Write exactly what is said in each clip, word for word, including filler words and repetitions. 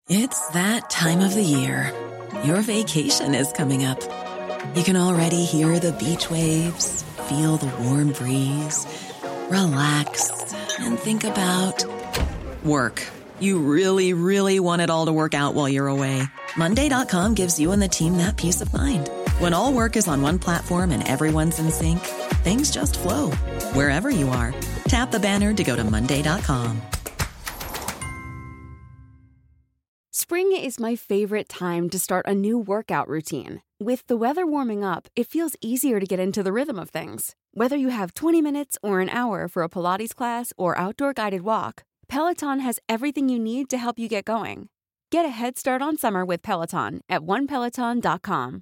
It's that time of the year. Your vacation is coming up. You can already hear the beach waves, feel the warm breeze, relax, and think about work. You really, really want it all to work out while you're away. Monday dot com gives you and the team that peace of mind. When all work is on one platform and everyone's in sync, things just flow. Wherever you are, tap the banner to go to Monday dot com. Spring is my favorite time to start a new workout routine. With the weather warming up, it feels easier to get into the rhythm of things. Whether you have twenty minutes or an hour for a Pilates class or outdoor guided walk, Peloton has everything you need to help you get going. Get a head start on summer with Peloton at one peloton dot com.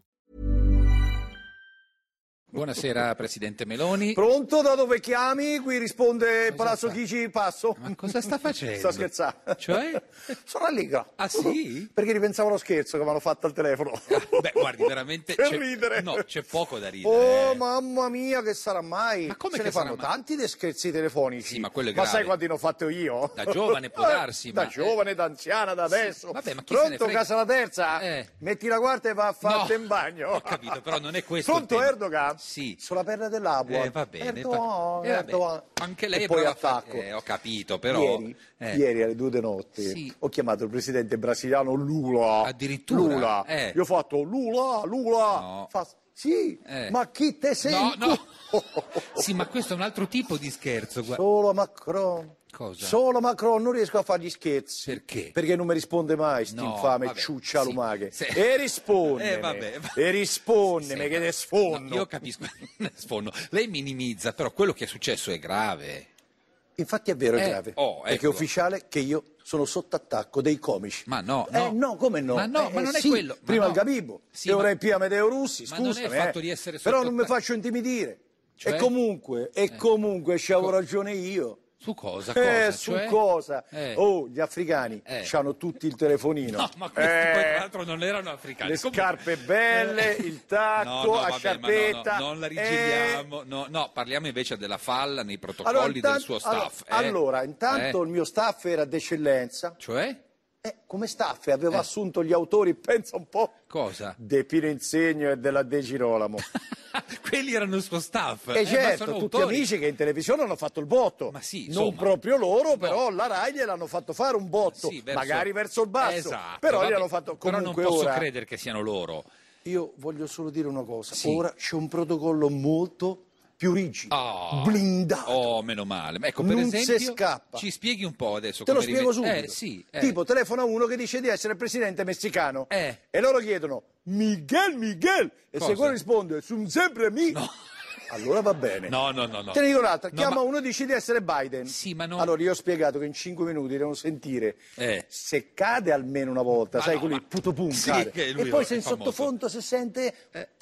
Buonasera Presidente Meloni. Pronto? Da dove chiami? Qui risponde Cosa Palazzo sta? Chigi, passo. Ma cosa sta facendo? Sto scherzando. Cioè? Sono allegro. Ah sì? Perché ripensavo allo scherzo che mi hanno fatto al telefono. Ah, beh, guardi, veramente Per c'è... ridere. No, c'è poco da ridere. Oh, eh. mamma mia, che sarà mai? Ma come Se che ne fanno sarà mai? tanti dei scherzi telefonici. Sì, ma quello è Ma grave. sai quanti ne ho fatto io? Da giovane può darsi, Da ma- giovane, da anziana, da adesso. Vabbè, ma chi se ne Pronto, frega? casa la terza? Eh. Metti la quarta e va a farti No, in bagno. ho capito, però non è questo Pronto, il tema. Erdogan? Sì. Sulla perla dell'acqua. Eh, va bene, Erdogan, va- eh, vabbè. Erdogan. Anche lei e è poi brava a fare- attacco. eh, ho capito, però Ieri, eh. ieri alle due di notte Sì. ho chiamato il presidente brasiliano Lula. Addirittura? Lula. Eh. Io ho fatto Lula, Lula. No. Fa, sì, Eh. ma chi te sei? No, no. tu? Sì, ma questo è un altro tipo di scherzo. guarda. Solo Macron. Cosa? Solo Macron, non riesco a fargli scherzi. Perché? Perché non mi risponde mai, sti No, infame vabbè, ciuccia sì. lumache. Se- E rispondimi. Eh, vabbè, va- E rispondimi, Sì, che ma- te sfondo. no, io capisco, sfondo. Lei minimizza, però quello che è successo è grave. Infatti è vero, è Eh, grave. oh, Perché è ecco. ufficiale che io sono sotto attacco dei comici. Ma no, Eh no. no, come no? Ma no, Eh, ma non è sì, quello. Ma Prima no. il Gabibo, Sì, e ora ma- il P M Deo Russi, Ma non è il scusami. fatto eh. di essere Però sotto non mi attacco. faccio intimidire. Cioè? E comunque, e comunque ci avevo ragione io. Su cosa? Eh, cosa? su Cioè? cosa? Eh. Oh, gli africani Eh. hanno tutti il telefonino. No, ma questi Eh, poi tra l'altro non erano africani. le Comunque- scarpe belle, il tacco, No, no, la vabbè, ma sciarpetta. no, no, non la eh. rigiriamo. No, no, parliamo invece della falla nei protocolli Allora, del intanto- suo staff. allora, eh? allora, intanto Eh? il mio staff era d'eccellenza. Cioè? Eh, come staff avevo Eh. assunto gli autori, pensa un po', Cosa? De Pino Insegno e della De Girolamo. Quelli erano il suo staff. E eh, ma certo, sono tutti autori. amici che in televisione hanno fatto il botto. Ma sì, non insomma. proprio loro, No. però la Rai gliel'hanno fatto fare un botto, Sì, verso- magari verso il basso. Esatto, però vabbè, gliel'hanno fatto però comunque non posso ora. credere che siano loro. Io voglio solo dire una cosa, Sì. ora c'è un protocollo molto più rigido, Ah. blindato. Oh, meno male. Ma ecco, per Non si esempio, scappa. ci spieghi un po' adesso Te lo come spiego rive- subito. Eh, sì, eh. Tipo, telefona uno che dice di essere il presidente messicano. Eh. E loro chiedono, Miguel, Miguel. E Cosa? se quello risponde, sono sempre mi. No. Allora va bene. No, no, no, no. Te ne dico un'altra, No, chiama ma- uno e dice di essere Biden. Sì, ma non- Allora io ho spiegato che in cinque minuti devono sentire Eh. se cade almeno una volta, Ma sai, no, quelli ma- puto pum Sì, cade. che lui E poi è se in famoso. sottofondo si sente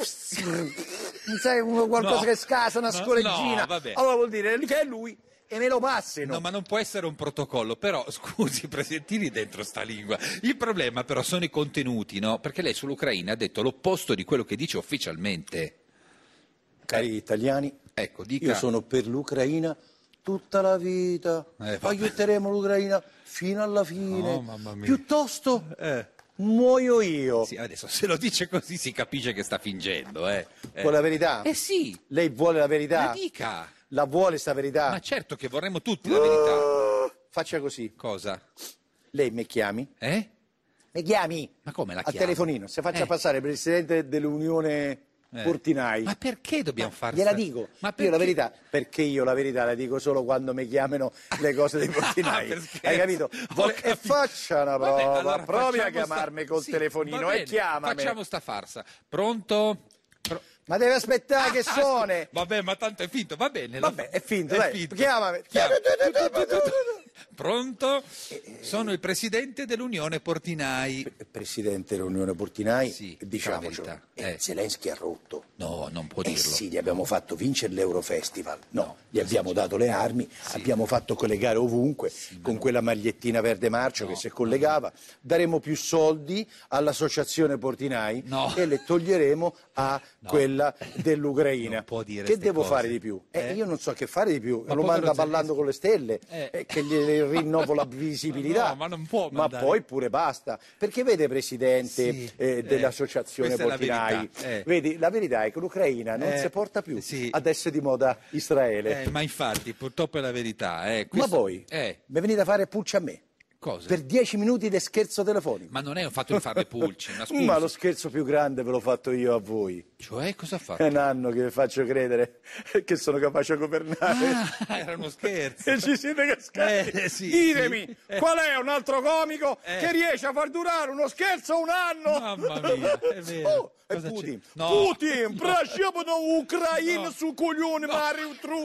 non sai, uno- qualcosa No. che scasa, una No, scoreggina. no, vabbè. Allora vuol dire che è lui e me lo passino. No, ma non può essere un protocollo, però scusi, presentini dentro sta lingua. Il problema però sono i contenuti, no? Perché lei sull'Ucraina ha detto l'opposto di quello che dice ufficialmente. Cari italiani, Ecco, dica. io sono per l'Ucraina tutta la vita. Eh, vabbè. Aiuteremo l'Ucraina fino alla fine. Oh, mamma mia. Piuttosto Eh. muoio io. Sì, adesso se lo dice così si capisce che sta fingendo, eh. Eh. Vuole la verità? Eh sì, Lei vuole la verità? la dica. La vuole sta verità? Ma certo che vorremmo tutti la verità. Faccia così. Cosa? Lei mi chiami? Eh? Mi chiami? Ma come la Al chiamo? telefonino. Se faccia Eh. passare il presidente dell'Unione Eh. Portinai. Ma perché dobbiamo far Gliela sta- dico. Ma Io la perché? verità, perché io la verità la dico solo quando mi chiamano le cose dei portinai. Per scherzo. Hai capito? Ho Vuole- e capito. faccia una Vabbè, prova, allora provi a facciamo chiamarmi sta- col sì, telefonino va e bene, chiamami. Facciamo sta farsa. Pronto? Pro- Ma deve aspettare che Ah, suone. Vabbè, ma tanto è finto, va bene. la- Vabbè, è finto, dai, chiamami. Chiama. Pronto? Sono il presidente dell'Unione Portinai. Presidente dell'Unione Portinai, Sì, diciamocelo, dica la verità. eh, Eh. Zelensky ha rotto. No, non può Eh dirlo. sì, gli abbiamo fatto vincere l'Eurofestival. No, No, gli abbiamo dato le armi, abbiamo fatto quelle gare ovunque, con quella magliettina verde marcio che si collegava. Daremo più soldi all'associazione Portinai No. e le toglieremo a No. quella dell'Ucraina. Non può dire Che ste devo cose. fare di più? Eh, Eh? Io non so che fare di più. Ma Lo povero manda ballando Zelensky. con le stelle. Eh. Eh, che gli le rinnovo la visibilità. No, ma non può Ma mandare. poi pure basta. Perché vede, Presidente Sì, eh, eh, dell'Associazione questa è la Portinai, verità, eh. vedi, la verità è che l'Ucraina non Eh, si porta più sì. ad essere di moda Israele. Eh, ma infatti, purtroppo è la verità. Eh. Ma Questo- voi Eh, mi venite a fare pulci a me cosa? per dieci minuti di scherzo telefonico. Ma non è un fatto di farle pulci, ma scusi. Ma lo scherzo più grande ve l'ho fatto io a voi. Cioè, cosa ha fatto? È un anno che vi faccio credere che sono capace a governare. Ah, era uno scherzo. E ci siete cascati. Eh, sì, Ditemi, sì. Eh. qual è un altro comico Eh. che riesce a far durare uno scherzo un anno? Mamma mia, è vero. Oh, è Cosa c'è? Putin. No. Putin, прощепа на Украину No. su coglione, Mario Tru.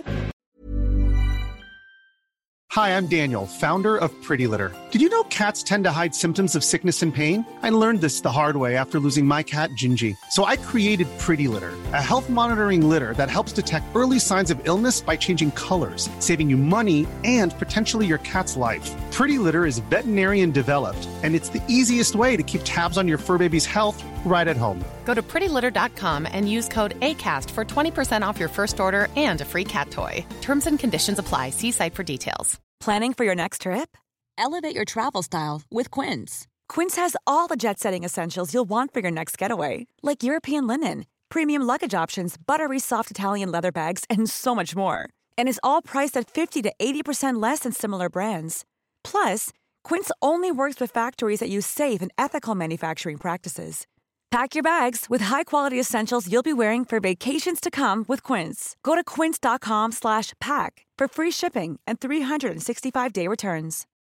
Hi, I'm Daniel, founder of Pretty Litter. Did you know cats tend to hide symptoms of sickness and pain? I learned this the hard way after losing my cat, Gingy. So I created Pretty Litter, a health monitoring litter that helps detect early signs of illness by changing colors, saving you money and potentially your cat's life. Pretty Litter is veterinarian developed, and it's the easiest way to keep tabs on your fur baby's health right at home. Go to pretty litter dot com and use code ACAST for twenty percent off your first order and a free cat toy. Terms and conditions apply. See site for details. Planning for your next trip? Elevate your travel style with Quince. Quince has all the jet-setting essentials you'll want for your next getaway, like European linen, premium luggage options, buttery soft Italian leather bags, and so much more. And is all priced at fifty to eighty percent less than similar brands. Plus, Quince only works with factories that use safe and ethical manufacturing practices. Pack your bags with high-quality essentials you'll be wearing for vacations to come with Quince. Go to quince dot com slash pack for free shipping and three sixty-five day returns.